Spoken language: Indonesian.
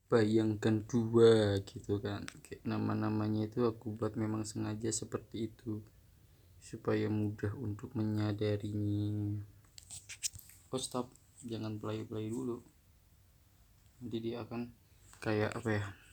bayangkan dua gitu kan, kayak nama-namanya itu aku buat memang sengaja seperti itu supaya mudah untuk menyadarinya. Oh stop, jangan play dulu, nanti dia akan kayak apa ya,